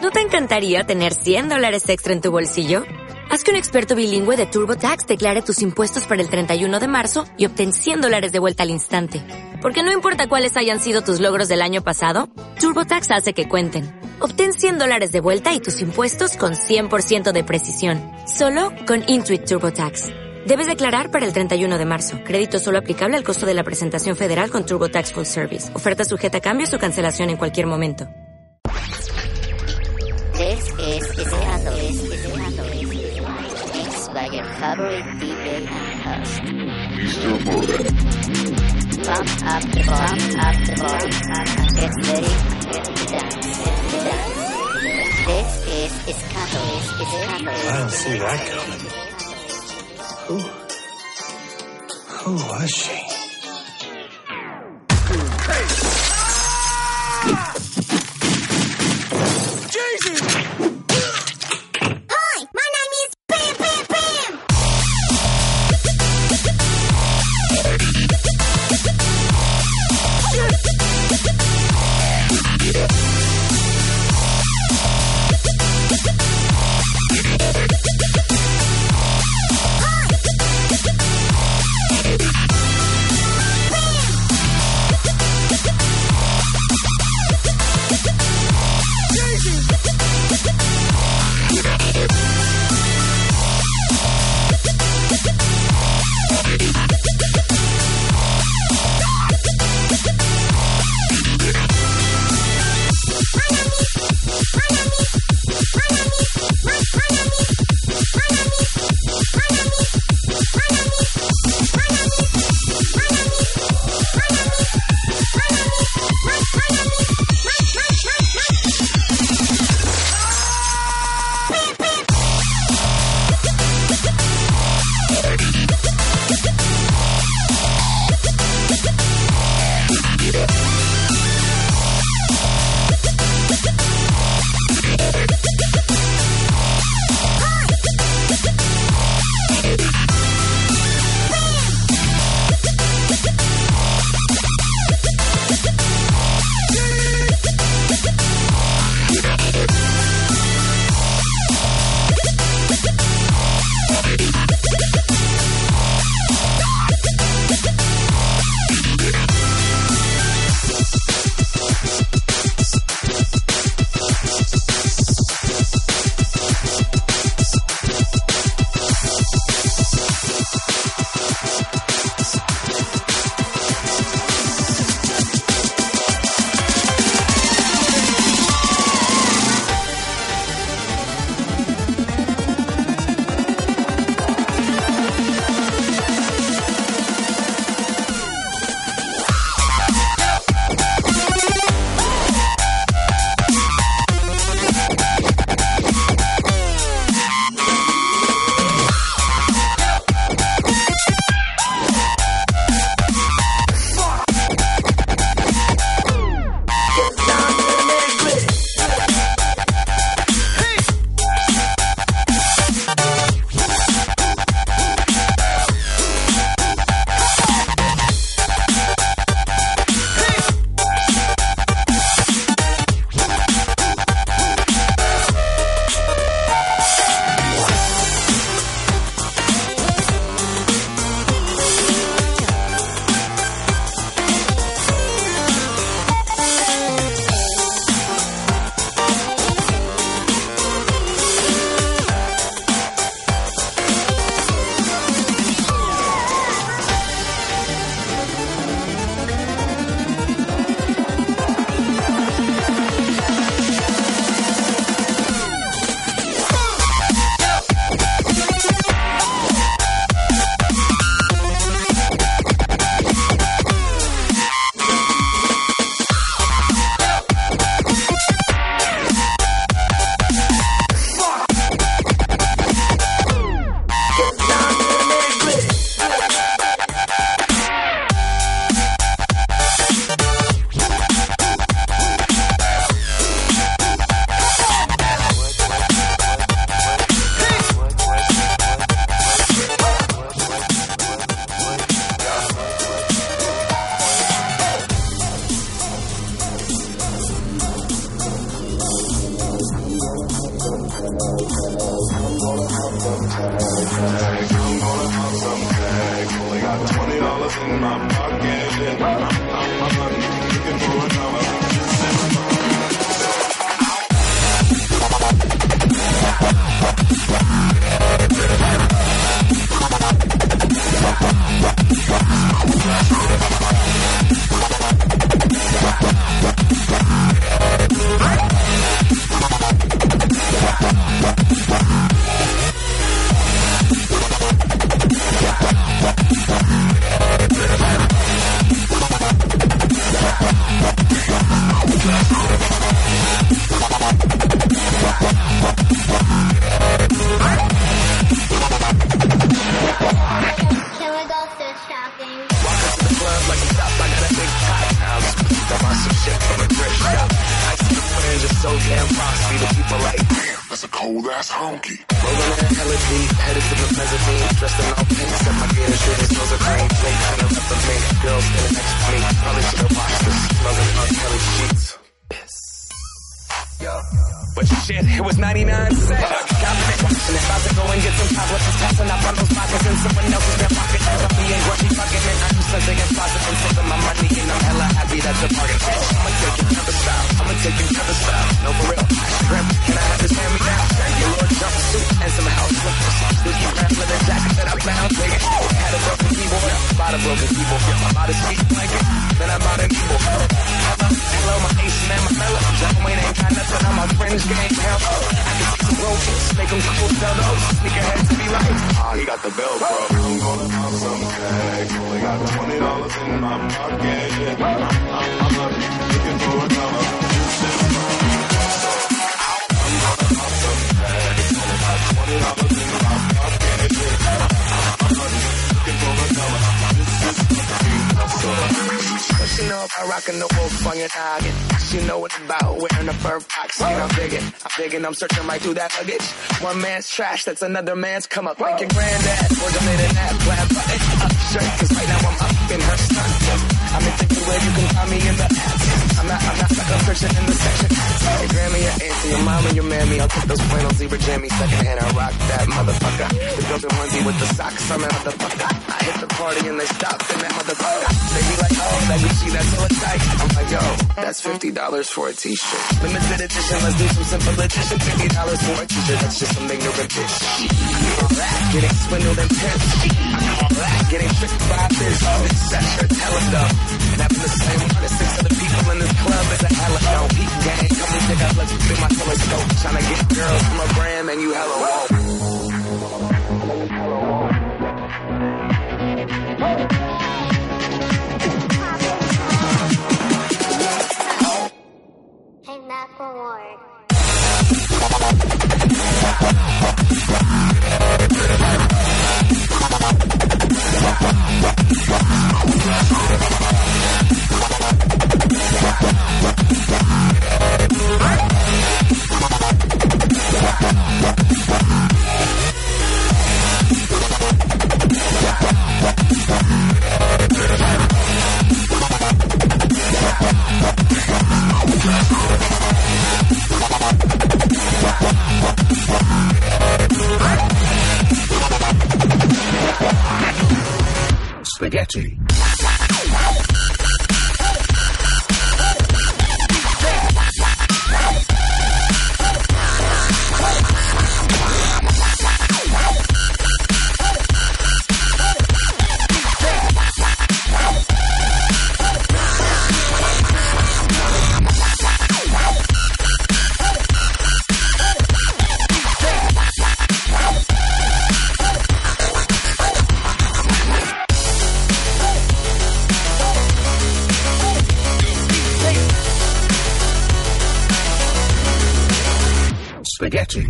¿No te encantaría tener $100 extra en tu bolsillo? Haz que un experto bilingüe de TurboTax declare tus impuestos para el 31 de marzo y obtén $100 de vuelta al instante. Porque no importa cuáles hayan sido tus logros del año pasado, TurboTax hace que cuenten. Obtén $100 de vuelta y tus impuestos con 100% de precisión. Solo con Intuit TurboTax. Debes declarar para el 31 de marzo. Crédito solo aplicable al costo de la presentación federal con TurboTax Full Service. Oferta sujeta a cambios o cancelación en cualquier momento. This is Scandalous. Mixed by your favorite DJ and host, Mr. Morgan. Pump up the volume, and get ready to dance. This is Scandalous. I didn't see that coming. Who was she? But shit, it was 99 cents. Got me watching it, about to go and get some compliments. Tossing up on those pockets in someone else's back pocket. I'm being grungy, fucking it. I'm just sending a closet and saving my money. And I'm hella happy that's a bargain. I'ma take you to the style. I'ma take you to the style. No, for real. Shrimp, can I have this hand me down? Your little jumpsuit and some house slippers. Dookie brand leather jacket that I found. Dig it. Had a broken keyboard. Bought a broken keyboard. I bought a sweet blanket. Then I bought a keyboard. Hello, my ace and my mellow. John Wayne ain't got nothing on my fringe game. Hell, I can see some roaches, make them cool, tell those sneakerheads to be like, ah, he got the bell, bro. I'm gonna pop some tags. Only got $20 in my pocket. I'm looking for a dollar. I'm gonna pop some tags. Only got $20 in my pocket. I'm looking for a dollar. She know about rocking the wolf on your noggin. She know what about wearing a fur fox skin. I'm digging, I'm searching right through that luggage. One man's trash, that's another man's come up. Like your granddad, or donating that black button up shirt. Cause right now I'm up in her skirt. I'm in the way you can find me in the ads. I'm not stuck up searching in the section. Your grandma, your auntie, your mom, and your mammy. I'll take those flannel zebra jammies secondhand. I rock that motherfucker. The girls in onesie with the socks. I'm a motherfucker. I hit the party and they stop in that motherfucker. They be like, oh, that Gucci, that's so tight. I'm like, yo, that's $50 for a t-shirt. Limited edition, let's do some simple edition. $50 for a t-shirt, that's just some ignorant bitch. I call that getting swindled and pimped. I call that getting tricked by this. That shirt's hella dumb. Having the same one as 6 other people in this club is a hella no peak gang. Come and pick up, let's fit my telescope. Tryna get girls from a gram and you hella won't. Hey, Macklemore. Spaghetti. Spaghetti.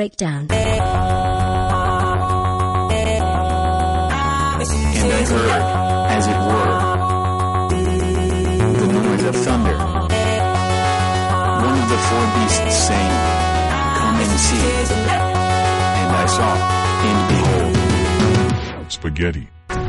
breakdown. And I heard, as it were, the noise of thunder. One of the four beasts saying, "Come and see." And I saw, and behold, spaghetti.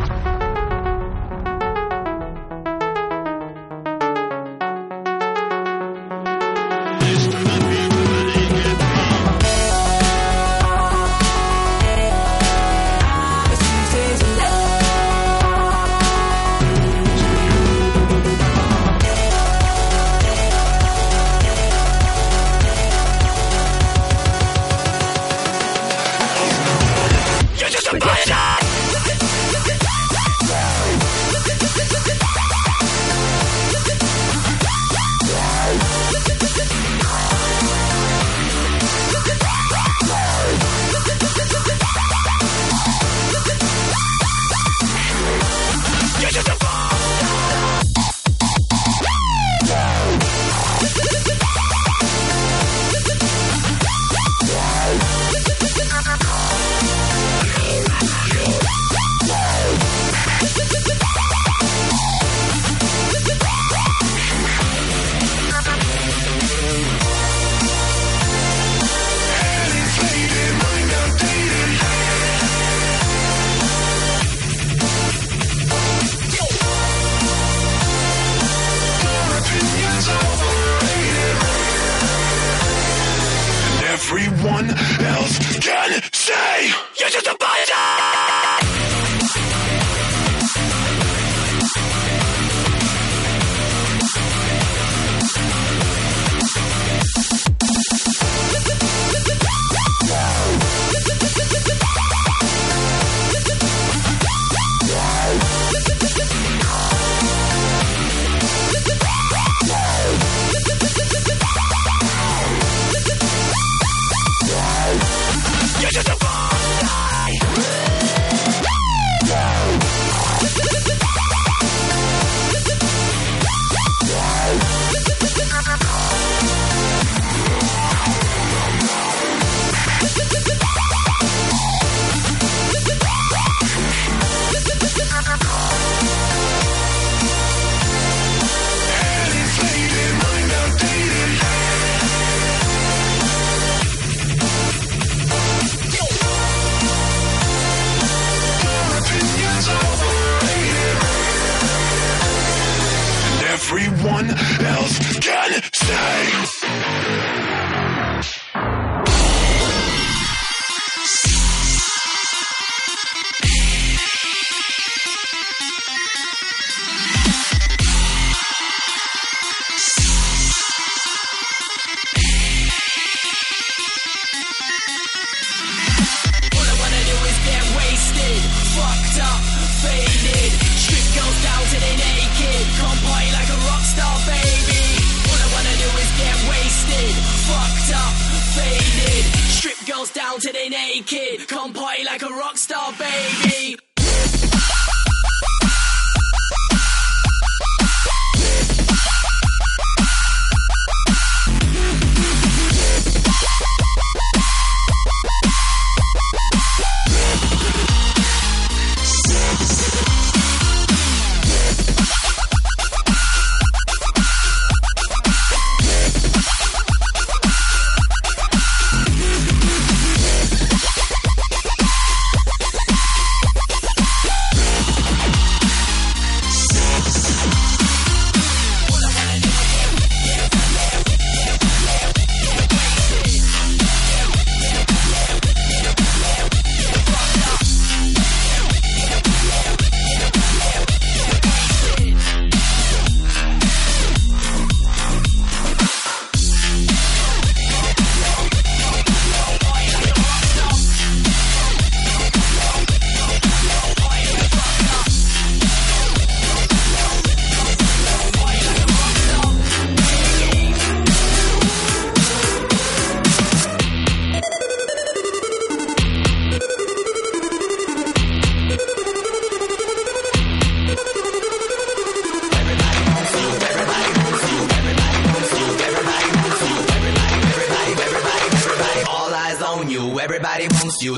Everyone else can say you're just a biter. Everyone else can say. All I wanna do is get wasted, fucked up, faded. Strip goes down to the naked, come party like a rock star, baby. All I wanna do is get wasted, fucked up, faded. Strip goes down to the naked, come party like a rock star, baby. everybody wants you.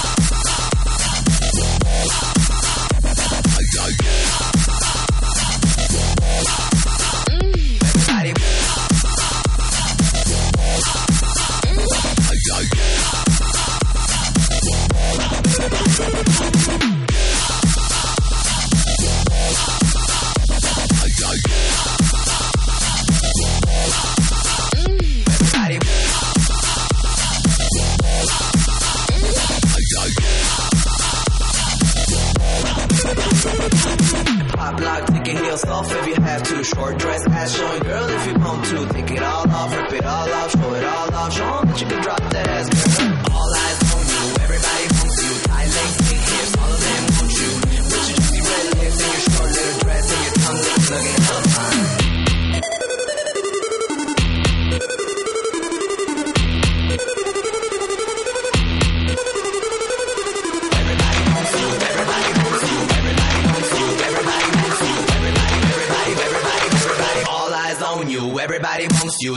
Pop lock, take your heels off if you have to. Short dress, ass showing, girl, if you want to. Take it all off, rip it all off, show it all off. Show 'em that you can drop that ass, girl. All eyes on you, everybody wants you. Tight legs, big hips, all of them want you. With your juicy red lips and your short little dress and your tongue looking hella fine. Everybody wants you.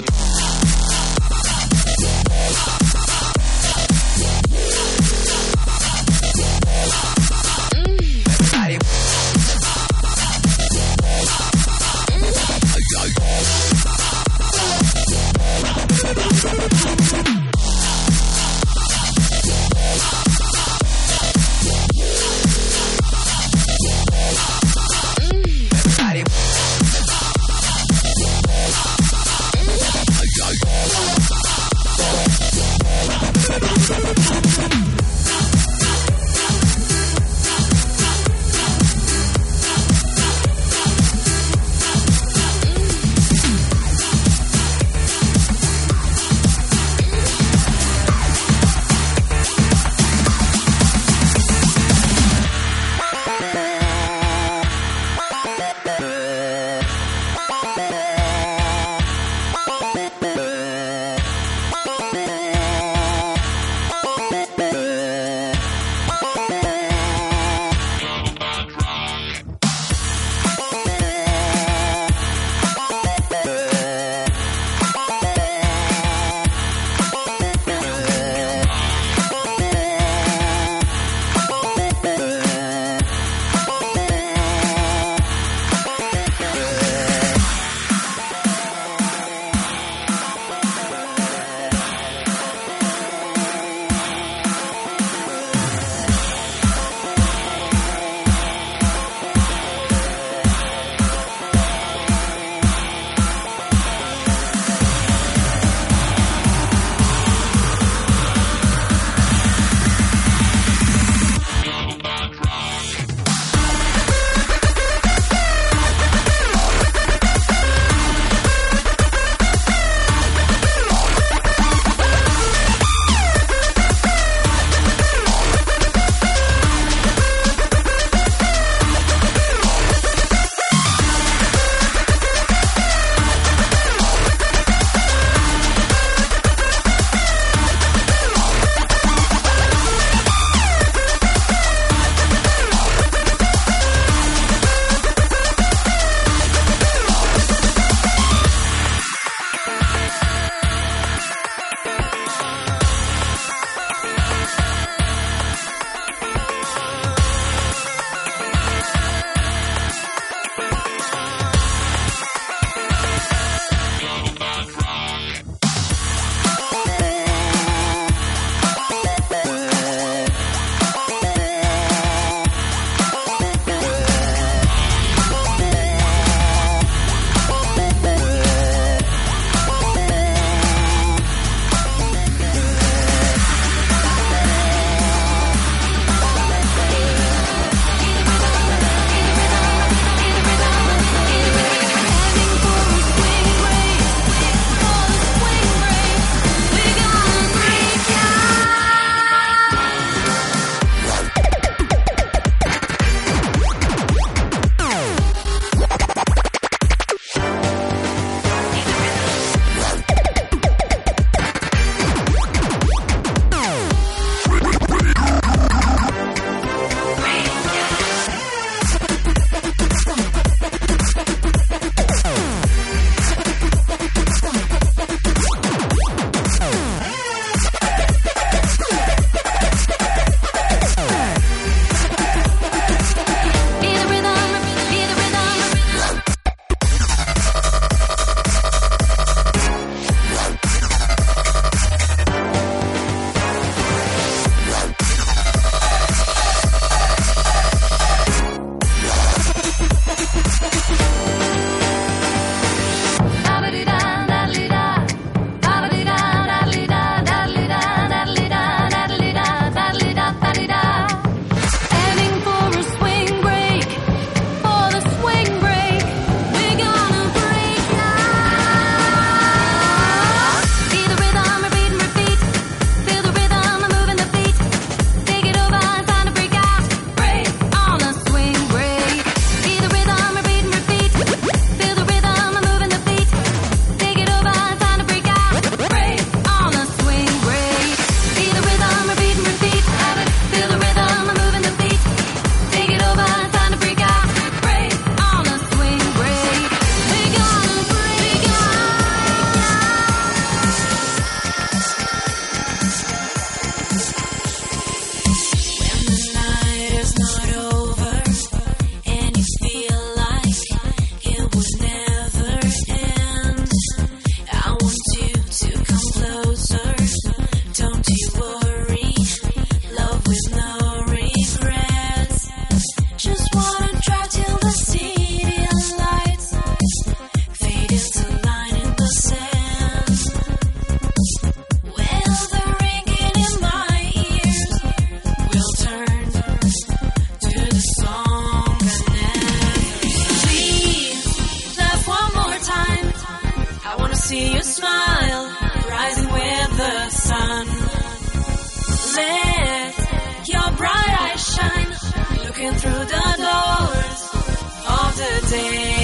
see you smile, rising with the sun. Let your bright eyes shine, looking through the doors of the day.